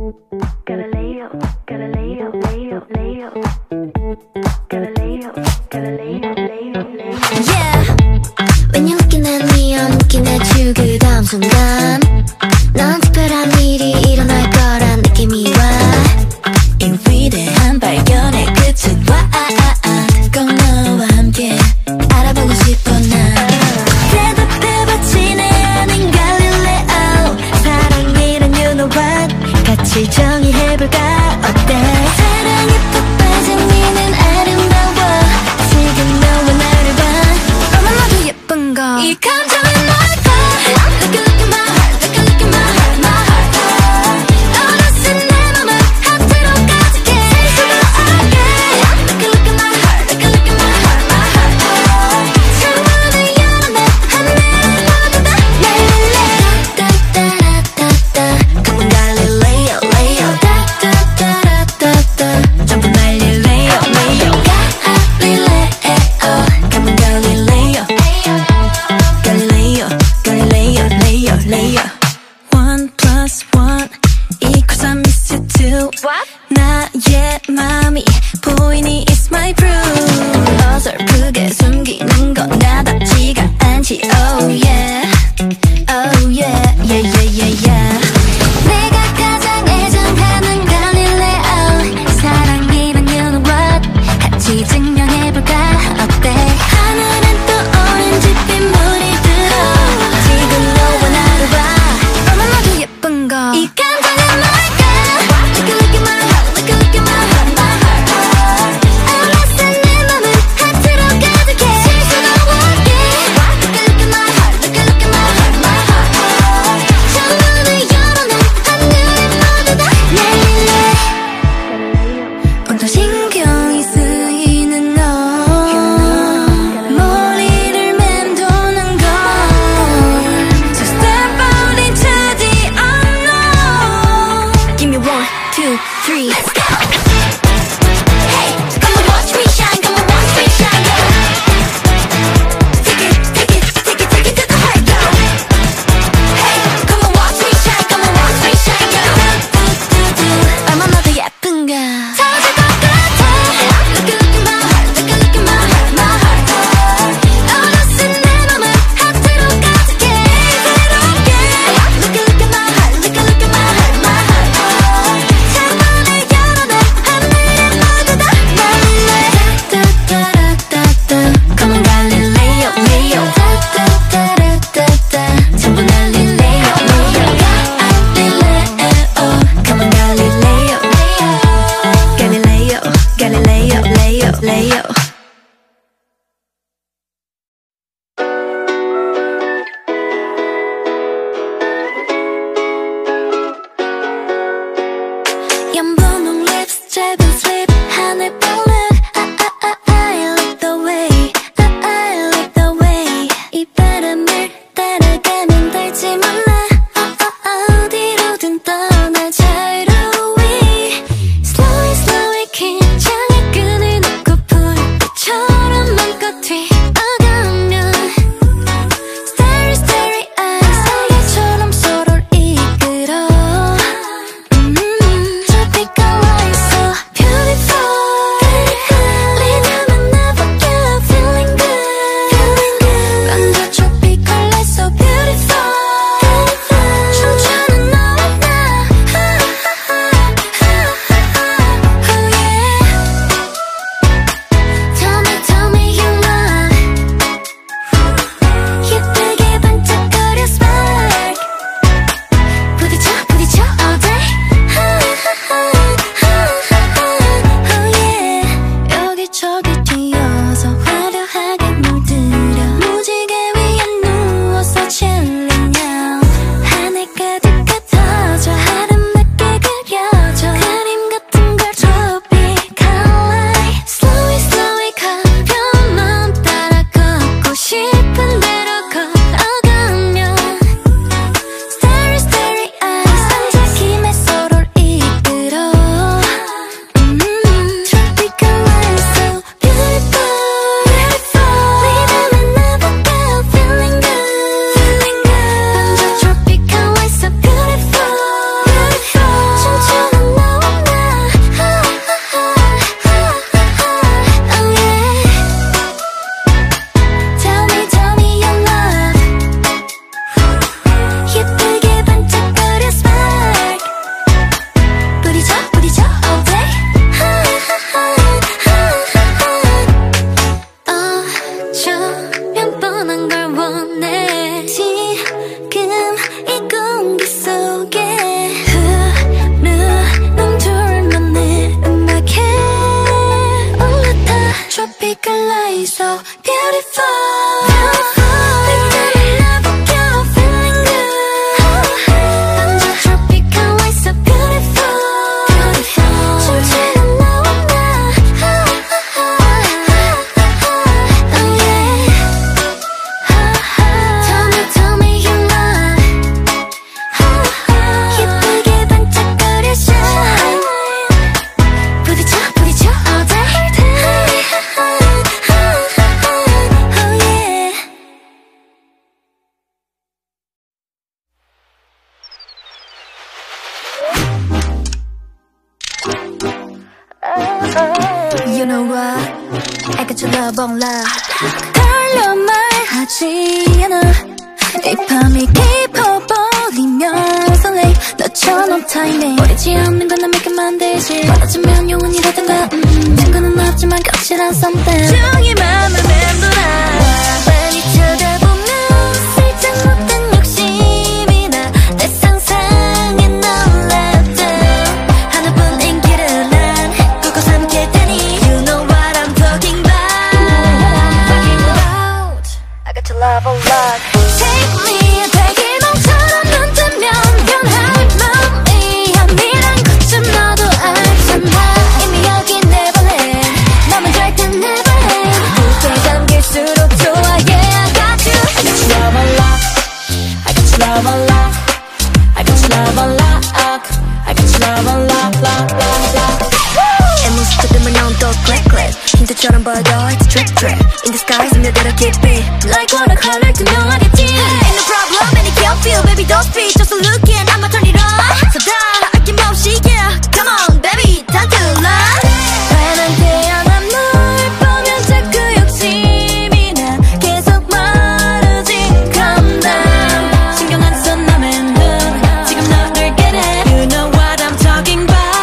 Galileo, Galileo, Leo, Leo. Galileo, Galileo, Leo, Leo. Yeah. when you're looking at me, I'm looking at you. 그 다음 순간 넌 특별한 일이 일어날 거란 느낌이 와. 이 위대한 발견의 끝은 와. 꼭 너와 함께 알아보고 싶어 난. 대답해봤지 내 아닌 갈릴레오. 사랑이란 you know what. 같이 정의해볼까 어때. 사랑에 푹 빠진 니는 아름다워. 지금 너와 나를 봐. 얼마나도 예쁜 거. 이 감정은 뭘까. Look at my heart, look at my heart, my heart. 어느새 내 맘을 하트로 가득해. 세수로 알게. Look at my heart, look at my heart, my heart. 창문을 열어내 하늘을 모두 다 날릴래. 따따라따따. Come on Galileo, Leo. 따따따라따따. 전부 날릴래요, Leo. Galileo. Come on Galileo. Galileo, Galileo, Leo, Leo. 1 plus 1 equals I miss you too. What? 나의 맘이 보이니 it's my proof. 어설프게 숨기는 건 나답지가 않지. Oh yeah, oh yeah, yeah, yeah, yeah, yeah. 내가 가장 애정하는 갈릴레오. 사랑이란 you know what. 같이 증명해볼까 어때. 하늘엔 또 오렌지빛 물이 들어. 지금 너와 나를 봐. 얼마나도 예쁜 거. 이 감정은 뭘까. Look at my heart, look at my heart, my heart. 어느새 내 맘은 하트로 가득해. 실수가 없게. Look at my heart, look at my heart, my heart. 창문을 열어내 하늘을 모두 다 날릴래. 온통 신경이 쓰이는 너. 머리를 맴도는 걸. So step out into the unknown. Give me 1, 2, 3. Let's go. Hey, come on, watch me shine. Come on, watch me shine. Take it, take it, take it, take it to the heart, go. Hey, come on, watch me shine. Come on, watch me shine, go. 얼마나 더 예쁜가. 터질 것 같아. Look at my heart, look at my heart, my heart. 어느새 내 맘은 하트로 가득해. 새롭게. Look at my heart, look at my heart, my heart. 창문을 열어내 하늘을 모두 다 날릴래. 따따라따따. Come on Galileo, Leo. 따따따라따따. 전부 날릴래요, Leo. Galileo. Come on Galileo. Galileo, Galileo, Leo, Leo. 연분홍 lips, 짧은 slip, 하늘 볼록. I like the way, I like the way. 이 바람을 따라가면 닿지만 나 어디로든 떠나 자유로이. Slowly, slowly 긴장의 끈을 놓고 불빛처럼 맘껏 튀어가면 Starry, starry eyes, 사계처럼 서로를 이끌어. Tropical light, so beautiful. You know what? I got your love on love. 달려 말하지 않아. 이 밤이 깊어버리면 설레. 너처럼 타이밍 버리지 않는 건 난 믿게 만들지. 멀어지면 영원히 되던가. 증거는 없지만 거칠한 something. 종이 맘을 맴돌아. 뻔히 쳐다보면 살짝 못된 욕심이 나. 내 상상에 놀랍다. 하나뿐인 길을 난 꾹꾹 삼킬 테니. You know what I'm talking about. I got your love on love. Take me 대기몽처럼 눈 뜨면 변할 맘이 아니란 것좀 너도 알잖아. 이미 여기 Neverland 너만 절대 Neverland. 물에 잠길수록 좋아. Yeah, I got you. I got your love on lock. I got your love on lock. I got your love on lock. I got your love on lock, lock, lock, lock. 애 모습 뜨면 넌 또 click click. 힌트처럼 보여 it's trick trick. In the sky 스며들어 깊이 like watercolor 투명하겠지. Ain't no problem and it can't feel baby don't speak just look in I'ma turn it on. So 다 아낌없이 yeah come on baby time to love. 환한 태양한 널 보면 자꾸 욕심이 나. 계속 마르지 calm down. 신경 안 써 남의 눈 지금 너를 get it. You know what I'm talking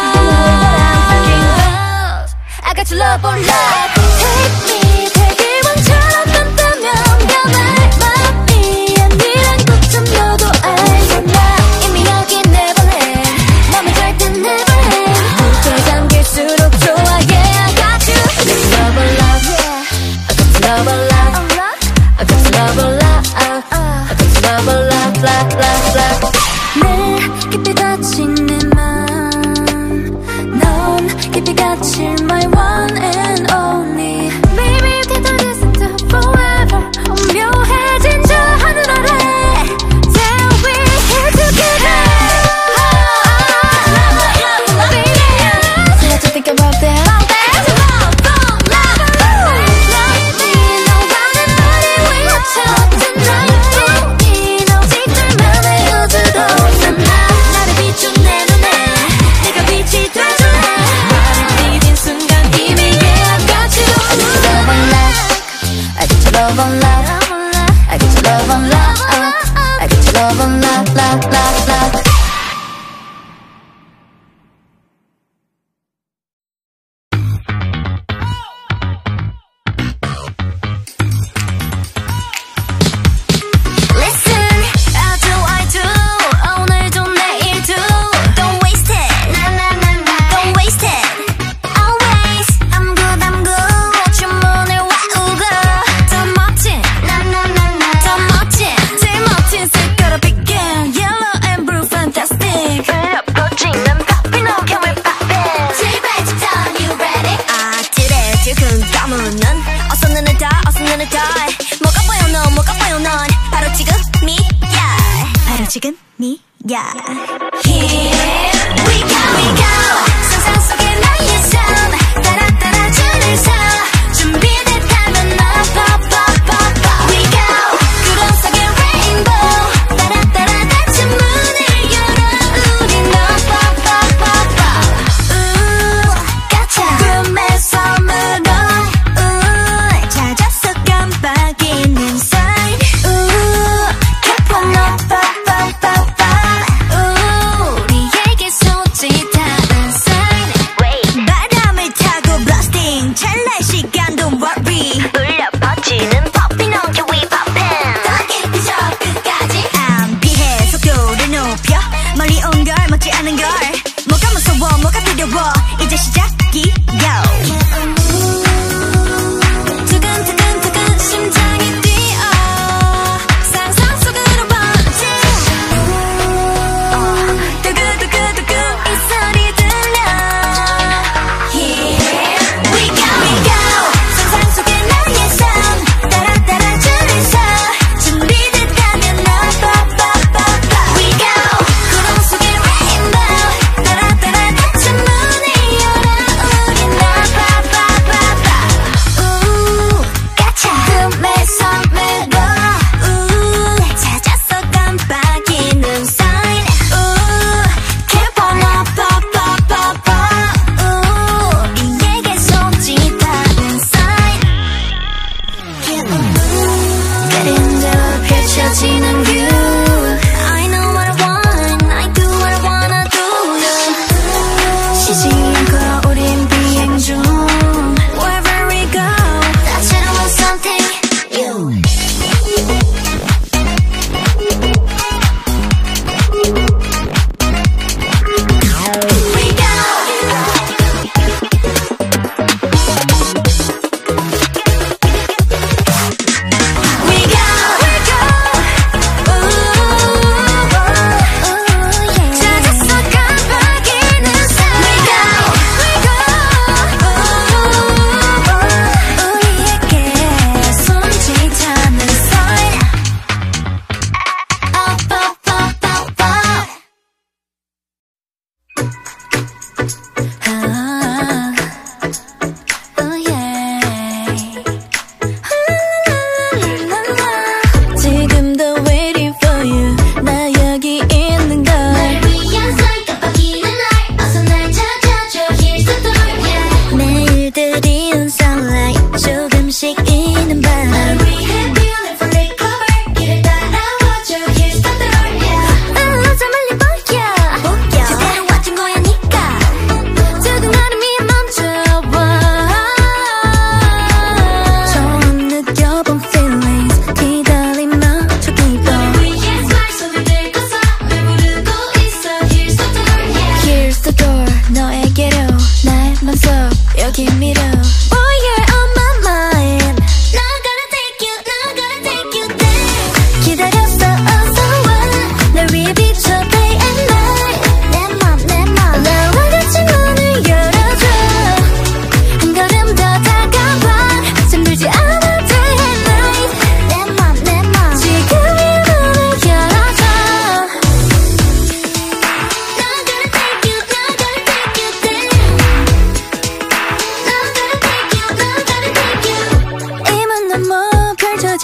about. I got your love on love. Take me 대기원처럼 눈 뜨면 변할 맘이 아니란 것좀 너도 알잖아. 이미 여기 Neverland 너만 절대 Neverland. 물에 잠길수록 좋아. Yeah, I got you. I got your love on love. I got your love on love. I got your love on love. I got your love on love, love, love, love. 내 깊이 닫힌 내 맘 넌 깊이 갇힐 my one and only. Maybe you can do this until forever. 오묘해진 저 하늘 아래 Till we're here together. Baby, let's just think about that. Love, love, love. Like me, no one and body we are taught tonight. 우린 오직 둘만의 우주도 없잖아. 나를 비춘 내 눈에 네가 빛이 돼줄래. 나를 믿은 순간 이미 yeah I got you. I got your love on love. I got your love on love. I got your love on love, love, love, love. Listen, I do, 오늘도 내일도. Don't waste it, don't waste it. Always, I'm good, 주문을 외우고. 더 멋진, 제일 멋진 색깔로 begin. Yellow and blue, fantastic. 불꽃지는 popping, oh can we pop it? 제발부터 you ready? 아들의 두근거리는 어서 눈을 떠, 뭐가 보여 넌 바로 지금이야. Here we go, 상상 속의 나의 삶 따라 줄을 서. 준비됐다면 나 pop, pop, pop, pop. We go 구름 속의 rainbow 따라 닫힌 문을 열어. 우린 너 pop, pop, pop, pop. 가차 꿈의 섬으로 찾았어 깜빡이는 sign. Keep on up, pop, pop, pop, pop.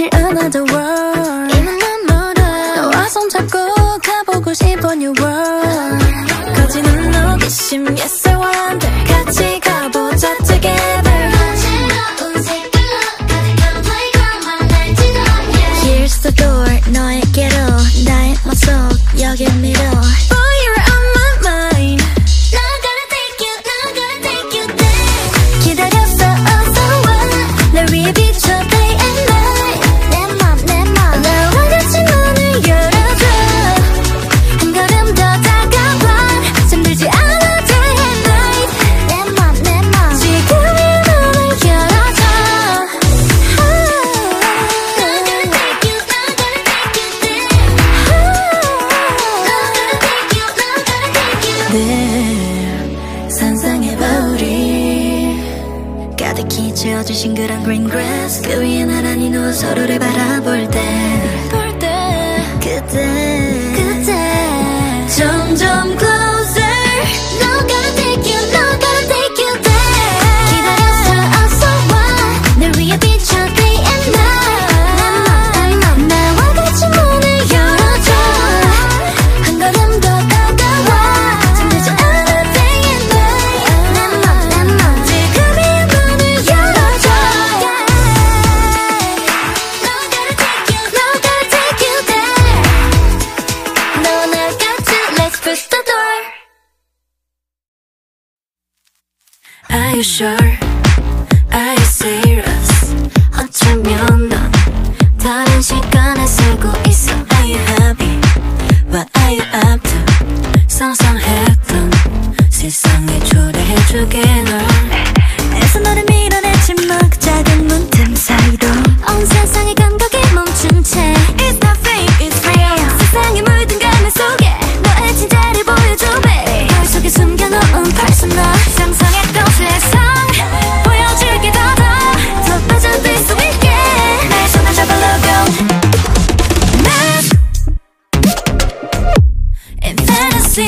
보이질 another world 이만 눈물을 너와 손잡고 가보고 싶어 new world 거지는 호기심 yes I wonder 같이 가보자 together Here's the door 너에게로 나의 모습 여기 mirror Boy you're on my mind Now gotta take you there 기다렸어 어서 와 날 위해 비춰 day and night 내 맘 나와 같이 문을 열어줘 한 걸음 더 다가와 잠들지 않아 day and night 내 맘 지금이 문을 열어줘 늘 상상해봐 우리 가득히 채워진 싱그런 green grass 그 위에 나란히 누워 서로를 바라볼 때 그때 점점 closer No gotta take you there 기다렸어 어서 와 날 위해 비춰 day and night 나와 같이 문을 열어줘 한 걸음 더 다가와 잠들지 않아 day and night 내 맘 지금이 문을 열어줘 No gotta take you there 너와 날 같이 let's push the door Are you sure? Are you serious? 어쩌면 넌 다른 시간에 살고 있어 Are you happy? What are you up to? 상상했던 세상에 초대해주게 널 애써 너를 밀어냈지만 그 작은 문틈 사이로 온 세상의 감각이 멈춘 채 It's not fake, it's real 세상에 물든 가면 속에 너의 진짜를 보여줘 babe 별 속에 숨겨놓은 personal 상상했던 세상 보여줄게 더 빠져들 수 있게 내 손을 잡아려고 In fantasy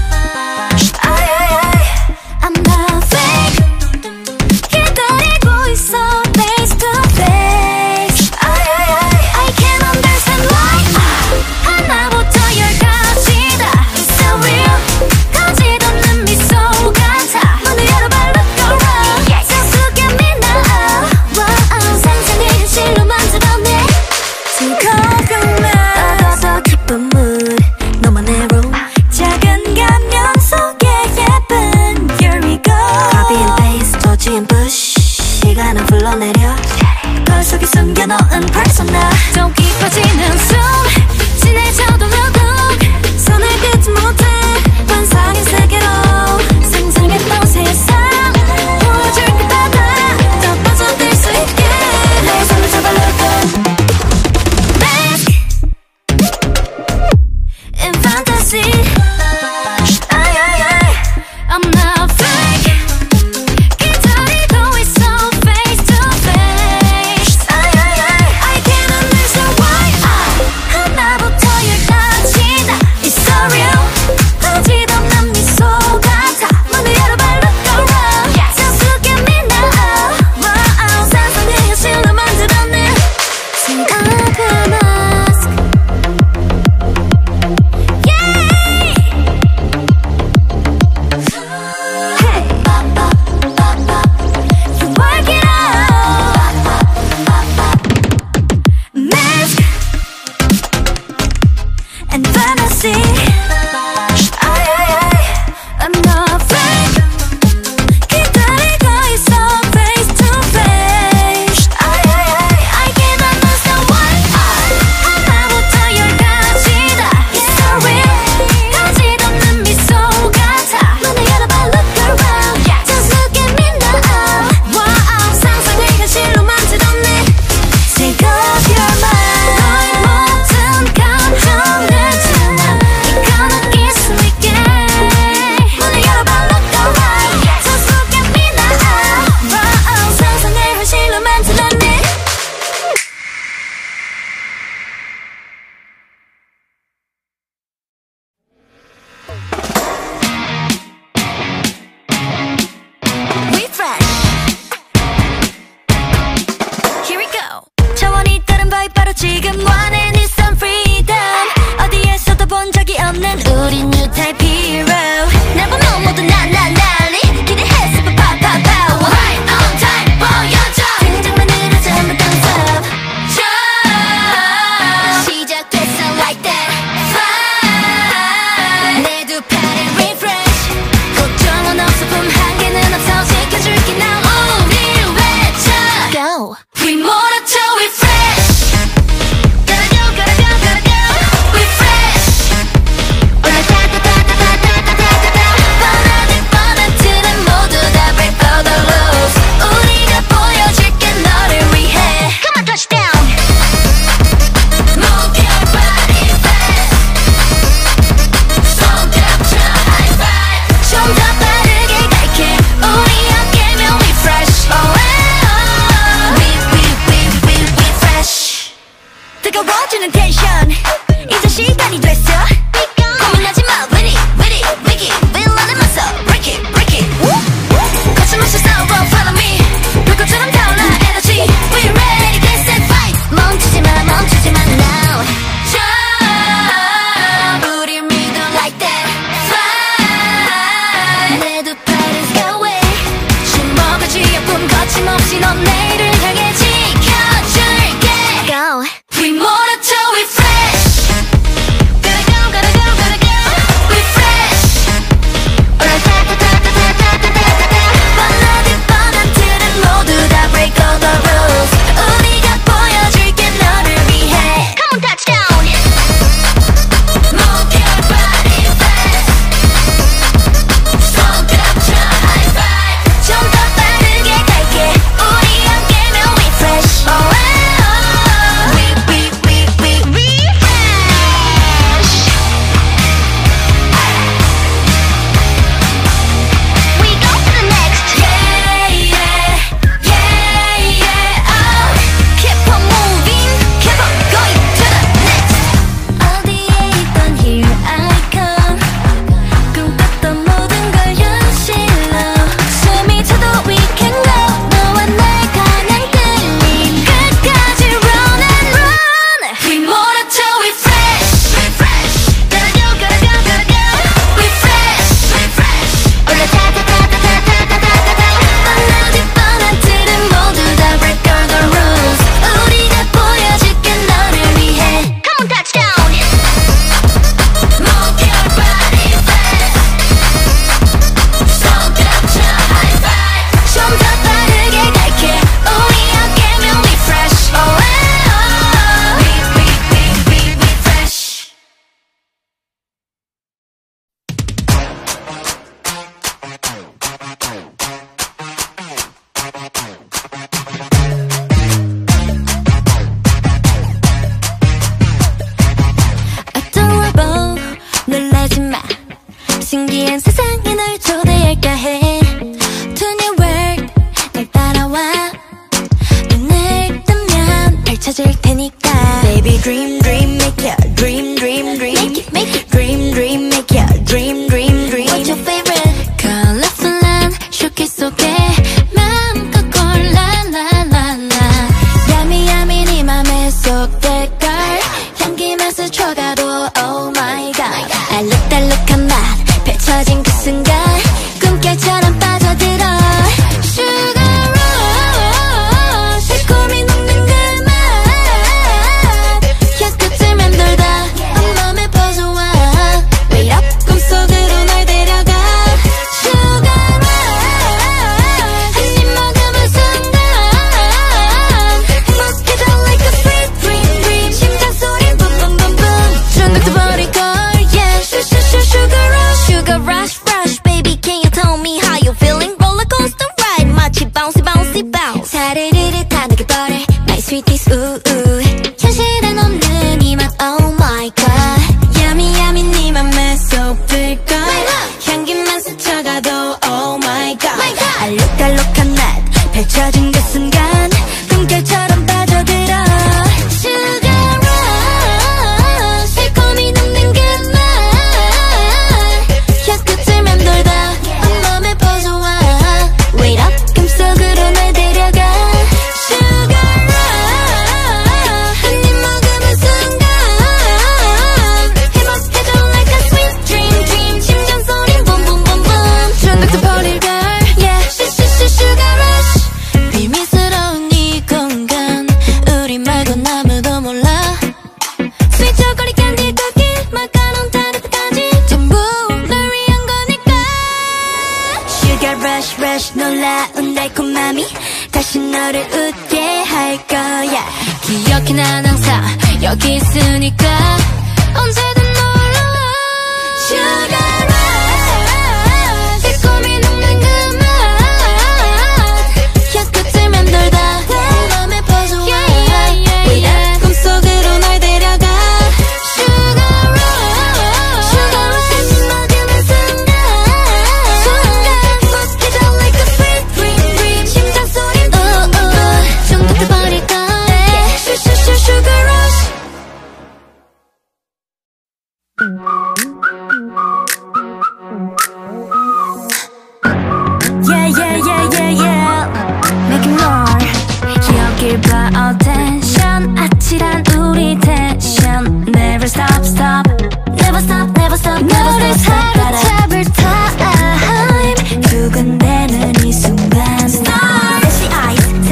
I'm not fake 기다리고 있어 face to face 다시 넌 내일을 향해 지켜줄게. Go. We molotov, we fresh. Gotta go, gotta go, gotta go. We fresh. 뻔하디 뻔한 틀은 모두 다 break all the rules. 우리가 보여줄게 너를 위해. Come on, touchdown. Move your body fast. 손가락쳐 high five. 좀 더 빠르게 갈게. 우리 함께면 we fresh. Oh, oh, oh. We fresh. We go to the next. Yeah, yeah, yeah, yeah. Oh, keep on moving, keep on going to the next. 어디에 있던 here I come. 꿈꿨던 모든 걸 현실로. 숨이 차도 we can go. 너와 날 가는 끌림 끝까지 run and run. We molotov, we fresh. We fresh. Gotta go, gotta go, gotta go. We fresh. We fresh. 올라타타타타타타타타타. 뻔하디 뻔한 틀은 모두 다 break all the rules. 우리가 보여줄게 너를 위해. Come on, touchdown. Move your body fast. 손가락쳐 high five. 좀 더 빠르게 갈게. 우리 함께면 we fresh. Oh, oh, oh. We fresh. Adorable, 놀라지 마. 신기한 세상에 널 초대할까 해. To new world, 날 따라와. 눈을 뜨면 펼쳐질 테니까. Baby dream, dream, make your dream, dream, dream. Make it, dream, dream, make your dream, dream, dream. What's your favorite? Colorful한 쇼케이스 속에 마음껏 골라, la, la, la. Yummy, yummy, 네 맘에 쏙될걸. 향기만 스쳐가도 oh my god. 알록달록한 맛 펼쳐진 그 순간 꿈결처럼 빠져들어. Sugar rush 새콤이 녹는 그 맛. 향끝을 맴돌다 온몸에 퍼져와. Wait up 꿈속으로 널 데려가. Sugar rush 한입 먹으면 순간 행복해져 like a sweet dream, dream. 심장 소린 boom boom boom boom. 중독돼 버릴 걸 yeah. Sugar rush, sugar rush, rush. Baby can you tell me how you feeling? Roller coaster ride 마치 bouncy bouncy bounce. 사르르르 다 느껴버려 my sweeties ooh ooh. 현실엔 없는 이 맛 oh my god. Yummy yummy 네 맘에 쏙 들걸. 향기만 스쳐가도 oh my god. 알록달록한 맛 펼쳐진 그 순간 꿈결처럼 빠져들어. Sugar rush 새콤이 녹는 그 맛. 향끝을 맴돌다 온몸에 퍼져와. Wait up 꿈속으로 날 데려가. Sugar rush 한입 먹으면 순간 행복해져 like a sweet dream, dream. 심장 소린 boom boom boom boom. 중독돼 버릴 걸 yeah. Sugar rush 비밀스러운 이 공간 우리 말고 아무도 몰라. Sweet chocolate candy cookie 마카롱 타르트까지 전부 널 위한 거니까. Sugar rush rush 놀라운 달콤함이 다시 너를 웃게 할 거야. 기억해 난 항상 여기 있으니까 언제든 놀러와. Sugar rush 새콤이 녹는 그 맛. 향끝을 맴돌다 온몸에 퍼져와. Wait up 꿈속으로 널 데려가. Sugar rush 한입 먹으면 순간 행복해져 like a sweet dream, dream. 심장 소린 ooh ooh. 중독돼 버릴 걸 Sugar rush. Yeah yeah yeah yeah yeah. Making more. 여길 봐 attention 아찔한 우리 텐션. Never stop stop. Never stop never stop. 너를 사로잡을 time. 두근대는 이 순간. Start. Flashing eyes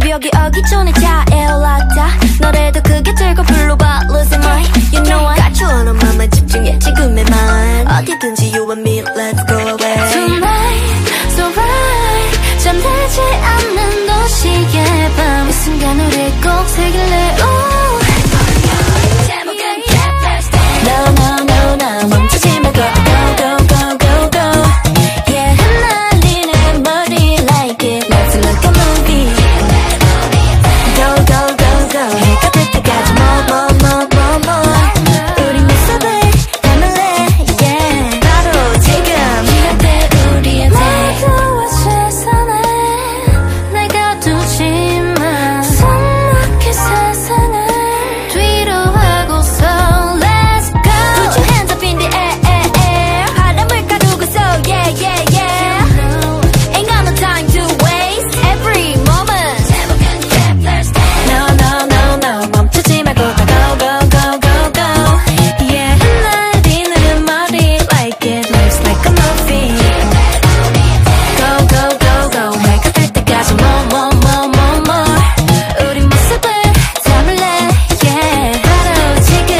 새벽이 오기 전에 차에 올랐다 노래도 크게 들고 불러봐 Losing my You know I got you on a 맘만 집중해 지금에만 어디든지 you and me let's go away Tonight so right 잠들지 않는 도시의 밤 이 순간 우리 꼭 새길래 No no no no 멈추지 말고 go go go go go Yeah 흩날리는 머리 like it Let's look a movie Go go go go 해가 뜰 때까지 more 우리 모습을 담을래 Yeah 바로 지금 이럴 때 우리한테 모두와 세상에 내가 두지 마 숨막힌 세상을 뒤로 하고서 Let's go Put your hands up in the air 바람을 가두고서 Yeah yeah yeah Ain't got no time to waste Every moment No no no no 멈추지 말고 go go go go go Yeah 흩날리는 머리 like it Looks like a movie Go go go go 해가 뜰 때까지 more 우리 모습을 담을래 Yeah 바로 지금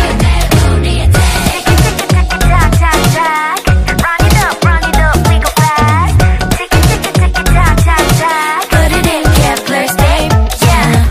Run it up, we go fast Put it in Kepler's babe, yeah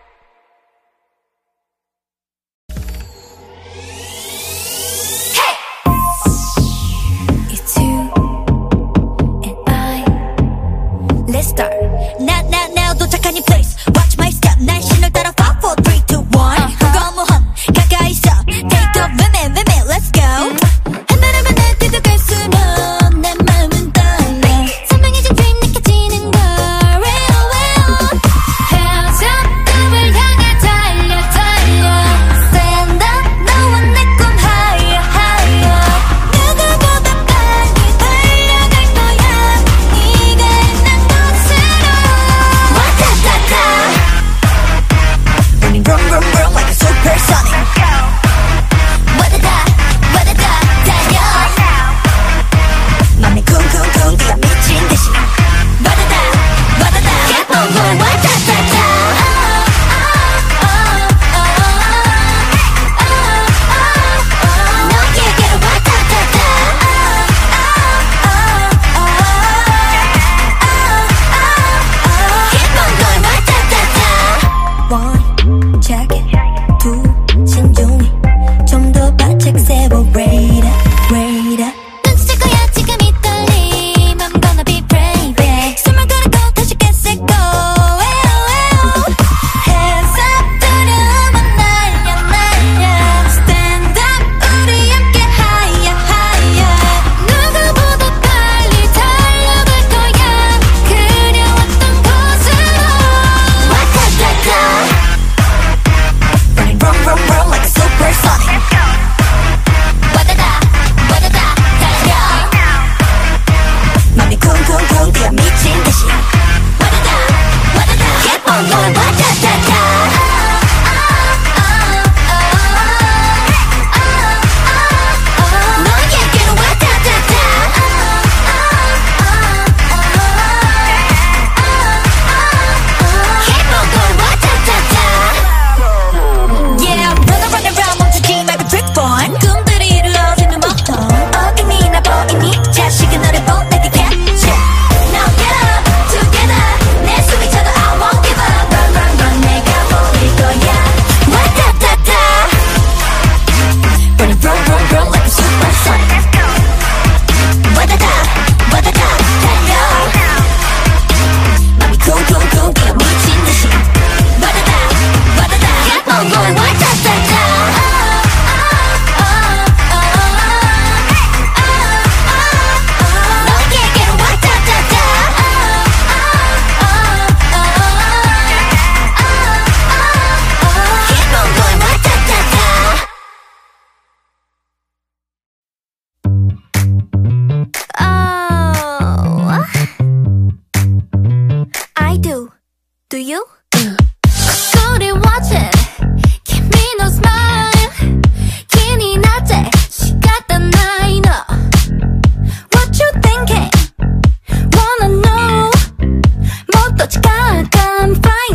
It's you and I Let's start Now 도착한 이 place Watch my step 난 신호를 따라 5, 4, 3, 2, 1 무거무한 가까이 있어 Take off women Let's go 하늘에만 날뛰도 갈수록 내 마음은 떨려 선명해진 dream 느껴지는 걸 Hands up 꿈을 향해 달려 Stand up 너와 내 꿈 higher 누구보다 빨리 달려갈 거야 네가 있는 곳으로 와타타타 Running vroom like a supersonic 와다다 달려 맘이 쿵쿵쿵 뛰어 미친 듯이 와다다 Keep on going 와타타타 너에게로 와타타타 Keep on going 와타타타 One, check it two, 신중히 좀 더 바짝 세워 Rate up 눈치챌 거야 지금 이 떨림 I'm gonna be brave yeah. 숨을 고르고 다시 get set go Hands up 두려움은 날려 Stand up 우리 함께 higher 누구보다 빨리 달려갈 거야 그려왔던 곳으로 와타타타 Running vroom like a supersonic 와다다 달려 맘이 쿵쿵쿵 뛰어 미친 듯이 와다다 Keep on going 와타타타 너에게로 와타타타 Keep on going 와타타타 Yeah, run around 멈추지 말고 drip on 꿈들이 이루어지는 모터 어디니 나 보이니 자식은 너를 보내게 capture Now get up, together 내 숨이 차도 I won't give up Run 내가 보일 거야 와타타타 Running vroom like a supersonic 와다다 달려 맘이 쿵쿵쿵 뛰어 미친 듯이 와다다 Keep on going 와타타타 너에게로 와타타타 Keep on going 와타타타 Oh I do Do you? 우리 watch it Give me no smile 기니 낮에 시간다 나이 너 What you thinking? Wanna know 못 도착할까 I'm flying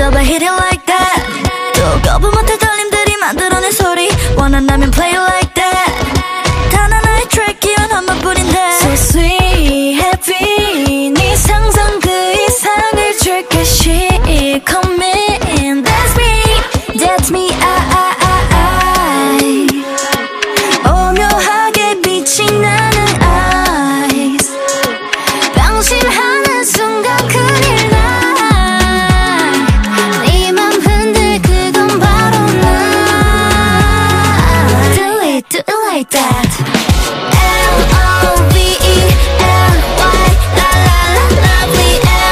Double hit it like that. 또 거부 못할 떨림들이 만들어낸 소리 원한다면 play it like that. 단 하나의 트랙이면 한 번뿐인데 So sweet, happy 네 상상 그 이상을 줄게 She come in, that's me, I 오묘하게 빛이 나는 eyes 방심하는 순간 큰일 나 네 맘 흔들 그건 바로 나 Do it like that L-O-V-E-L-Y la la la lovely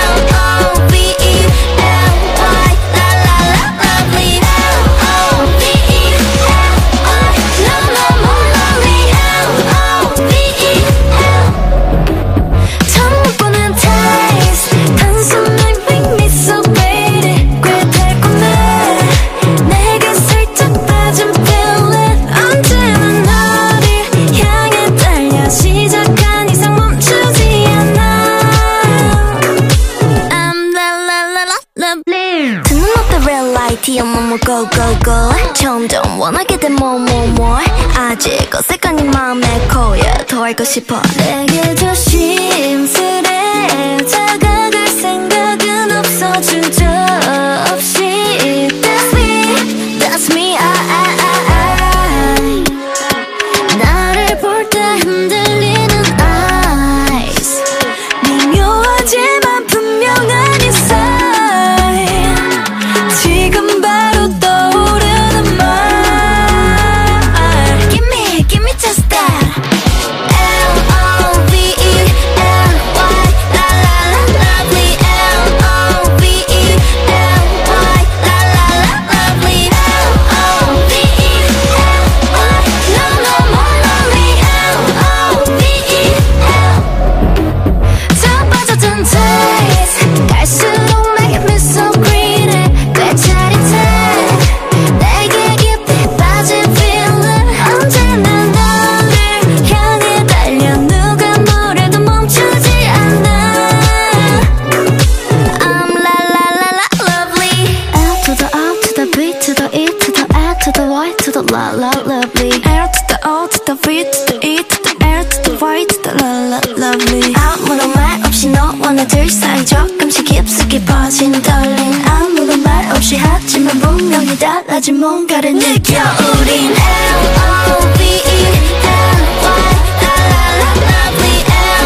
L-O-V-E-L-Y la la la lovely L-O-V-E-L-Y no more lonely L-O-V-E-L 처음 보는 taste 단순히 make me so pretty 꽤 달콤해 내게 살짝 빠진 feeling 언제나 너를 향해 달려 시작한 이상 멈추지 않아 I'm la la la la lovely Turn up the red light 뒤에 뭐뭐 go go go 점점 원하게 돼 more more more 아직 어색한 네 맘에 고여 더 알고 싶어 내게 조심스레 다가갈 생각은 없어 주저없이 That's me, I 나를 볼 때 흔들리는 eyes 미묘하지만 분명한 이 sign 지금 바로 떠오르는 말 Give me just that L-O-V-E-L-Y la la la lovely L-O-V-E-L-Y la la la lovely L-O-V-E-L-Y no more lonely L-O-V-E-L 더 빠져든 taste 갈수록 make me so greedy 꽤 짜릿해 내게 깊이 빠진 feeling 언제나 너를 향해 달려 누가 뭐래도 멈추지 않아 I'm la la la la lovely L to the O to the B to the E to the L to the Y to the la la lovely L to the O to the B to the E to the L to the Y to the la la lovely 아무런 말 없이 너와 나 둘 사이 조금씩 깊숙이 퍼진 떨림 아무런 말 없이 하지만 분명히 달라진 뭔가를 느껴 우린 L-O-V-E-L-Y la la la lovely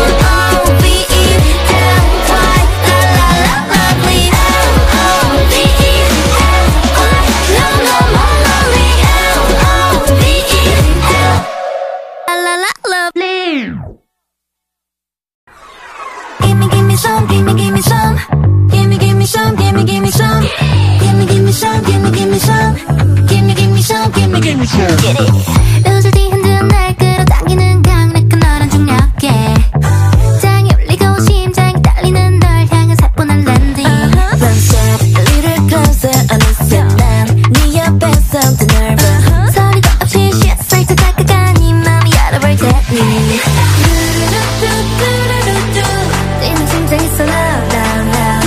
L-O-V-E-L-Y la la la lovely L-O-V-E-L-Y no more lonely L-O-V-E-L la la la lovely Give me some, give me some Give me some, give me some Give me some, give me some Give me some, give me some Get it 웃을 때 흔드는 날 끌어당기는 강력한 너란 중력에 장이 울리고 심장이 떨리는 널 향해 사뿐한 landing One step, a little closer 어느새 난네 옆에서 the nervous 소리도 없이 살짝 다가가니 맘이 열어볼 테니 뛰는 심장이 쏘 now now now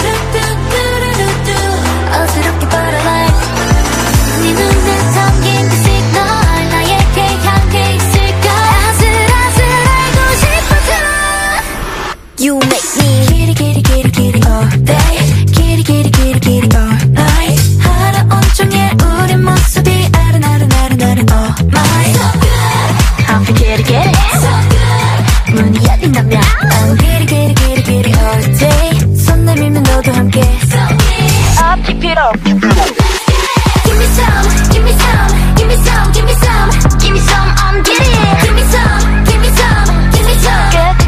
어지럽게 butterfly 네 눈에 담긴 그 시그널 나에게 향해 있을까 아슬아슬 알고 싶어져 You make me kitty kitty kitty kitty all day kitty kitty kitty kitty all night 하루 온종일 우리 모습이 아른아른아른아른 oh my So good I'm kitty kitty So good 문이 열린다면 I'm kitty kitty kitty kitty all day 손 내밀면 너도 함께 So good Up keep it up Give me some give me some give me some give me some give me some I'm getting it Give me some give me some give me some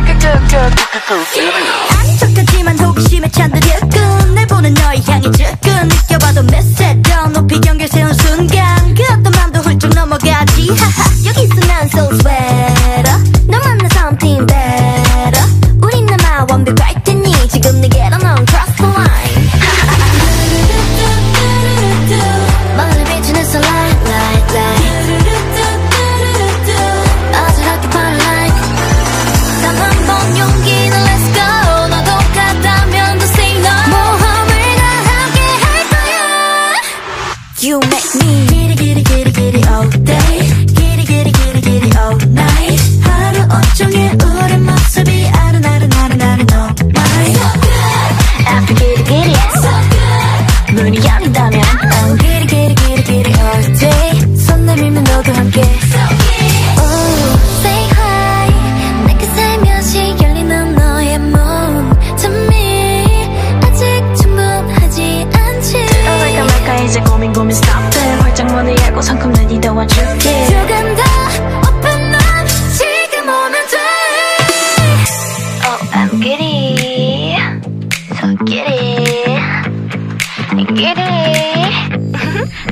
안쪽하지만 호기심에 찬들여 날 보는 너의 향이 접근 느껴봐도 몇 세더 높이 경계 세운 순간 그 어떤 맘도 훌쩍 넘어가지 하하 여기서 난 so sweater 너 만나 something better 우린 아마 완벽할 테니 지금 내게로 넌 cross the line 멀리 비치는 sunlight light light 어지럽게 burn like 단 한 번 용기는 let's go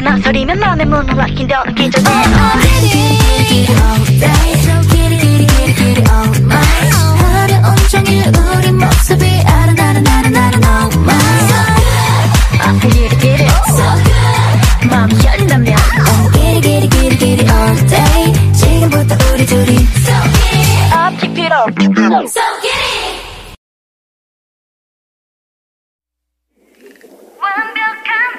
망설이면 맘의 문을 막힌다는 기적에 Get it all day So get it all night 하루 온종일 우리 모습이 아른아른아른아른 all mine Get it So good 마음이 열린다면 Get it all day 지금부터 우리 둘이 So get it Up, keep it up So get it 완벽한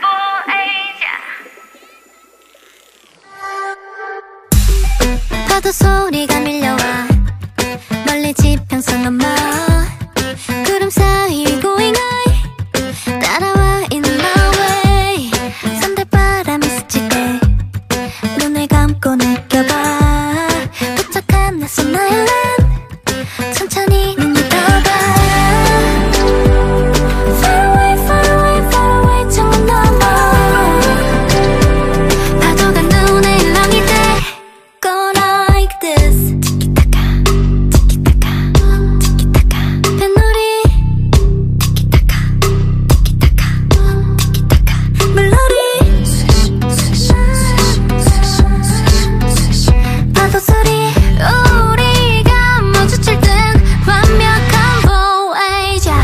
보혜자 파도 소리가 밀려와 멀리 지평선 넘어 구름 사이 we going high 따라와 in my way 산들바람이 스칠 때 눈을 감고 느껴봐 도착한 낯선 아일랜드 천천히 눈을 떠봐 Far away, far away, far away 창문 너머 파도가 눈에 일렁일 때 Go like this 티키타카 티키타카 티키타카 뱃놀이 티키타카 티키타카 티키타카 물놀이 파도 소리 우리가 마주칠 땐 완벽한 보혜자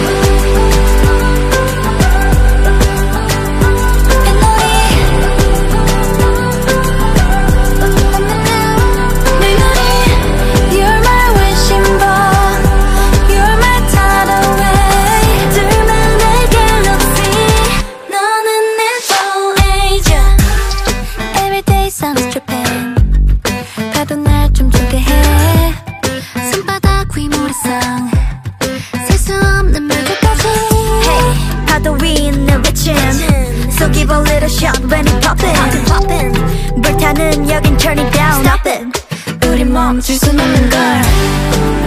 You're my wishing ball You're my tidal wave 둘만의 galaxy 너는 내 보혜자 Everyday sun's dripping 파도 날 춤추게 해 손바닥 위 모래성 셀 수 없는 물결까지 Hey 파도 위 있는 외침 So give a little shot when it poppin' 불타는 여긴 turn it down Stop it 우린 멈출 순 없는 걸